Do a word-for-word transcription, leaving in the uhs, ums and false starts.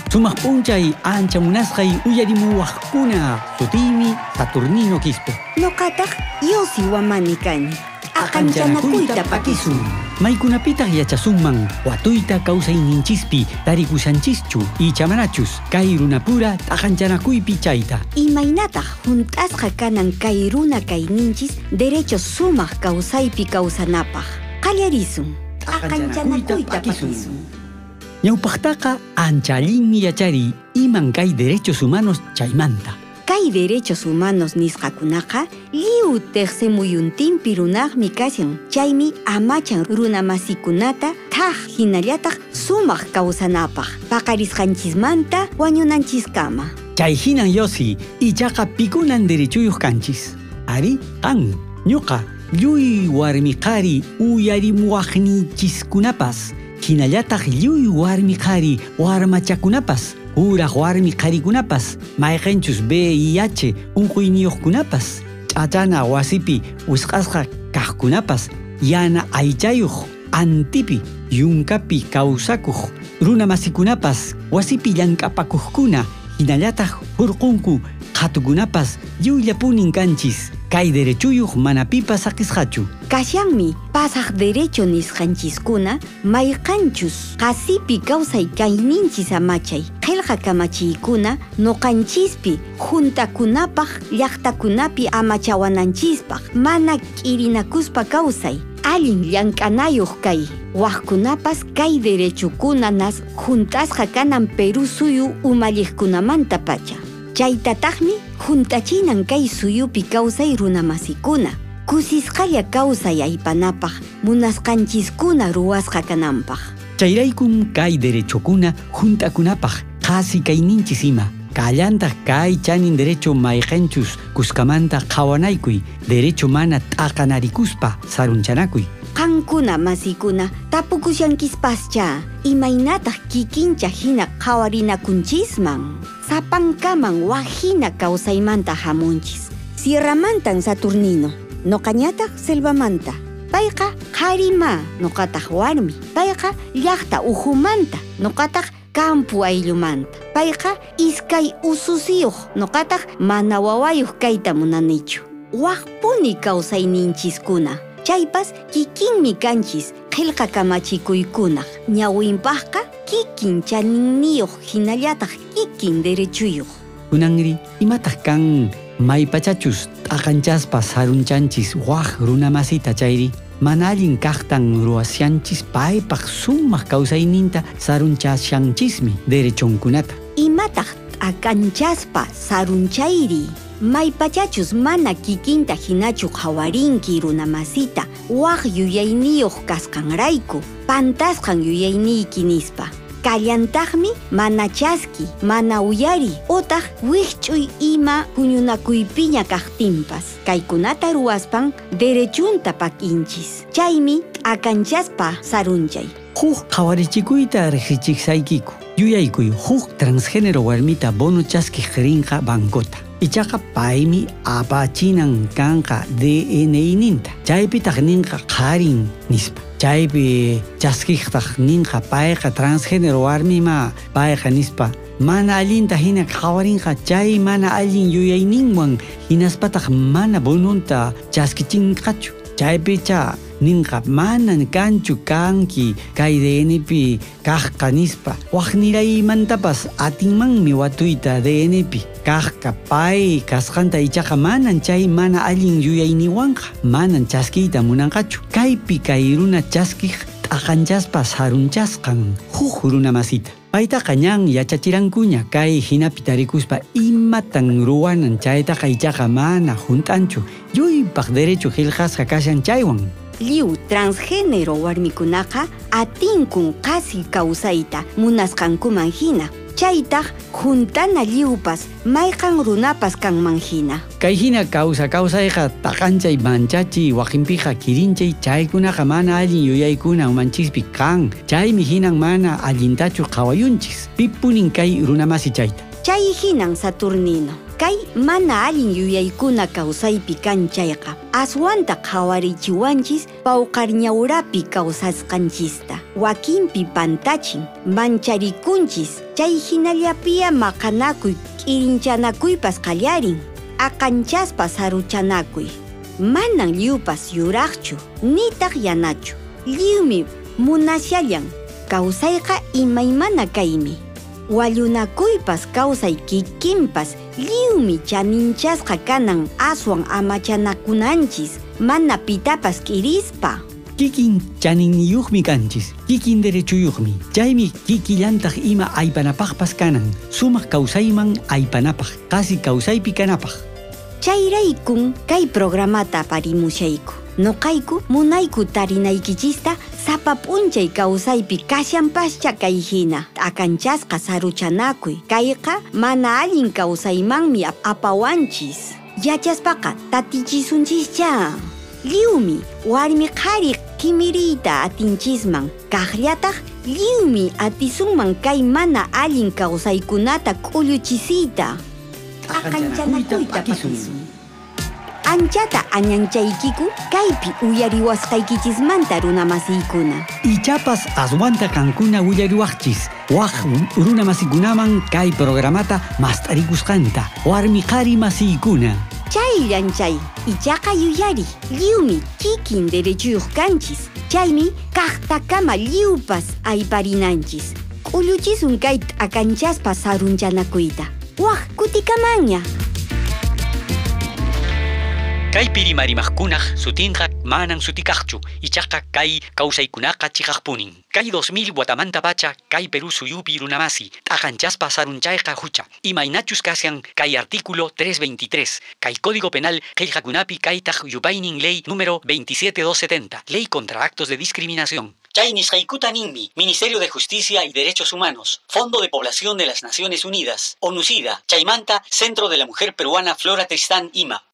Sumaq p'unchay ancha munasqay uyarimuwaqkuna sutiymi Saturnino Quispe. Ñuqataq Yosi Wamani kani. Aqanchanakuyta pakisun. Maykunapitaq yachasunman watuyta kawsayninchispi tarikusanchischu ichamanachus kay runapura t'aqanchanakuypi chayta. Imaynataq juntasqa kanan kay runa kayninchis derechos sumaq kawsaypi kawsanapaq. Qallarisun. Aqanchanakuyta pakisun. Ñawpaqtaqa ancha allinmi yachari iman kay derechos humanos chaymanta. Kay derechos humanos nisqakunaqa liu teqsemuyuntinpi runaqmi kashan. Chaymi amachan runa masikunata thaq hinallataq sumaq kawsanapaq paqarisqanchismanta wañunanchiskama. Chay hinan Yosi ichaqa pikunan derechuyuq kanchis. Ari qan ñuqa lluy warmi qari uyarimuwaqnichiskunapas hinallataq lluy warmi qari warmachakunapas uraq warmi qarikunapas mayqanchus V I H unquyniyuqkunapas ch'achana wasipi wisq'asqa kaqkunapas yana aychayuq antipi yunkapi kawsakuq runa masikunapas wasipi llank'apakuqkuna hinallataq hurqunku qhatukunapas lluyllapunin kanchis kay derechuyuq mana pipas saqisqachu. Kashanmi pasaq derecho nisqanchiskuna mayqanchus qasipi kawsay kayninchis amachay qillqa kamachiykuna nuqanchispi juntakunapaq llaqtakunapi amachawananchispaq mana k'irinakuspa kawsay allin llank'anayuq kay waqkunapas kay derechukuna nas juntasqa kanan Perú suyu umalliqkunamanta pacha. Chaytataqmi juntachinan kay suyupi kawsay runa masikuna. Kusisqalla kawsay aypanapaq munasqanchiskuna ruwasqa kananpaq. Chayraykum kay derechokuna juntakunapaq qasi kayninchis ima. Kallantaq kay chanin derecho mayqanchus kuskamanta qhawanaykuy derecho mana t'aqanarikuspa sarunchanakui. Qankuna masikuna tapukusyankispascha imaynataq kikincha hina qhawarinakunchisman. Sapankaman wajina kawsaymanta hamunchis. Sierramantan Saturnino, noqañataq Selvamanta. Payqa qarima noqataq warmi. Payqa llaqta uhumanta noqataq campu ayllumanta. Payqa iskay ususiyuq noqataq mana wawayuq kayta munanichu. Waqpuni kawsayninchiskuna. Chaypas kikinmi kanchis qillqa kamachikuykunaq. Ñawinpaqqa kikin chaninniyuq hinallataq kikin derechuyuq. Kunanri imataq kan maypachachus t'aqanchaspa sarunchanchis waq runamasita chayri mana allin kaqtan ruwasyanchis paypaq sumaq kawsayninta sarunchasyanchismi derechonkunata. Imataq t'aqanchaspa sarunchayri maypachachus mana kikinta hinachu qhawarinki runamasita waq yuyayniyuq kasqanrayku pantasqan yuyayniyki nispa. Kallantaqmi mana chaski, mana uyari utaq wiqch'uy ima puñunakuypiña kaqtinpas. Kaykunata ruwaspan derechunta pakinchis. Chaymi t'aqanchaspa sarunchay. Huk qhawarichikuyta riqsichiksaykiku. Yuyaykuy huk transgénero warmita bono chaskiq rinqa bankota. Ichaqa paymi apachinan kanqa D N I ninta. Chaypitaq ninqa qarin nispa. Chaypi chaskiqtaq ninqa payqa transgénero warmima payqa nispa. Mana allinta hina qhawarinqa chay mana allin yuyayninwan hinaspataq mana bonunta chaskichinqachu. Chaypicha ninqa manan kanchu kanki kay D N pi kaqqa nispa. Waqniraymantapas atinmanmi watuyta D N pi. Kaqqa pay kasqanta ichaqa manan chay mana allin yuyayniwanqa manan chaskiyta munanqachu. Kaypi kay runa chaskiq t'aqanchaspa sarunchasqan huk runamasita. Paytaqa ñan yachachirankuña kay hinapi tarikuspa imatan ruwanan chaytaqa ichaqa mana juntanchu. Lluypaq derecho qillqasqa kashan chaywan. Liu transgénero warmikunaqa atinkun qasi kawsayta munasqankuman hina. Chaytaq juntana liupas mayqan runapas kanman hina. Kay hina kawsa kawsayqa taqanchay manchachi waqinpiqa kirinchay chaykunaqa mana allin yuyaykuna umanchispi kan. Chaymi hinan mana allintachu qhawayunchis. Pipunin kay runamasi chayta. Chay hinan Saturnino. Kay mana allin yuyaykuna kawsaypi kan chayqa. Aswanta qhawarichiwanchis pawqarñawrapi kawsasqanchista. Wakinpi pantachin, mancharikunchis. Chay hinallapiya maqanakuy k'irinchanakuypas qallarin. Aqanchaspas saruchanakuy. Manan lliwpas yuraqchu, nitaq yanachu. Lliwmi munashallan, kawsayqa imaymana kaymi. Wallunakuypas kawsay kikinpas, lliwmi chaninchasqa kanan aswan amachanakunanchis, mana pitapas k'irispa. Kikin chaniniyuqmi kanchis, kikin derechuyuqmi. Chaymi kikillantaq ima aypanapaqpas kanan, sumaq kawsayman aypanapaq, qasi kawsaypi kanapaq. Chayraykun kay programata parimushayku. Noqayku munayku tarinaykichista sapa p'unchay kawsaypi kashanpascha kay hina. Akanchasqa saruchanakuy. Kayqa mana allin kawsaymanmi apawanchis. Yachaspaqa tatichisunchischa. Lliwmi warmi qhari kimiriyta atinchisman. Kaqllataq lliwmi atisunman kay mana allin kawsaykunata k'ulluchisiyta. Aqanchanakuyta pakisun. Anchata añanchaykiku kaypi uyariwasqaykichismanta runamasiykuna. Ichapas aswanta kankuna uyariwaqchis. Waq runamasikunaman kay programata mast'arikusqanta warmi qhari masiykuna. Chayllan chay, ichaqa yuyari, lliwmi kikin derechuyuq kanchis. Chaymi kaqtakama lliwpas ayparinanchis. K'ulluchisun kay akanchaspas sarunchanakuyta. Waq kutikamanña. Kay pirimarimaqkunaq sutinqa manan sutikaqchu, ichaqa kay kawsaykunaqa chiqaqpunin. Kay dos mil watamanta pacha kay Perú suyupi runamasi, t'aqanchaspa sarunchayqa hucha. Imaynachus kasyan kay artículo trescientos veintitrés, kay Código Penal qillqakunapi kaytaq yupaynin ley número veintisiete mil doscientos setenta, ley contra actos de discriminación. Chay nisqaykuta ninmi, Ministerio de Justicia y Derechos Humanos, Fondo de Población de las Naciones Unidas, ONUCIDA, chaymanta, Centro de la Mujer Peruana Flora Tristán Ima.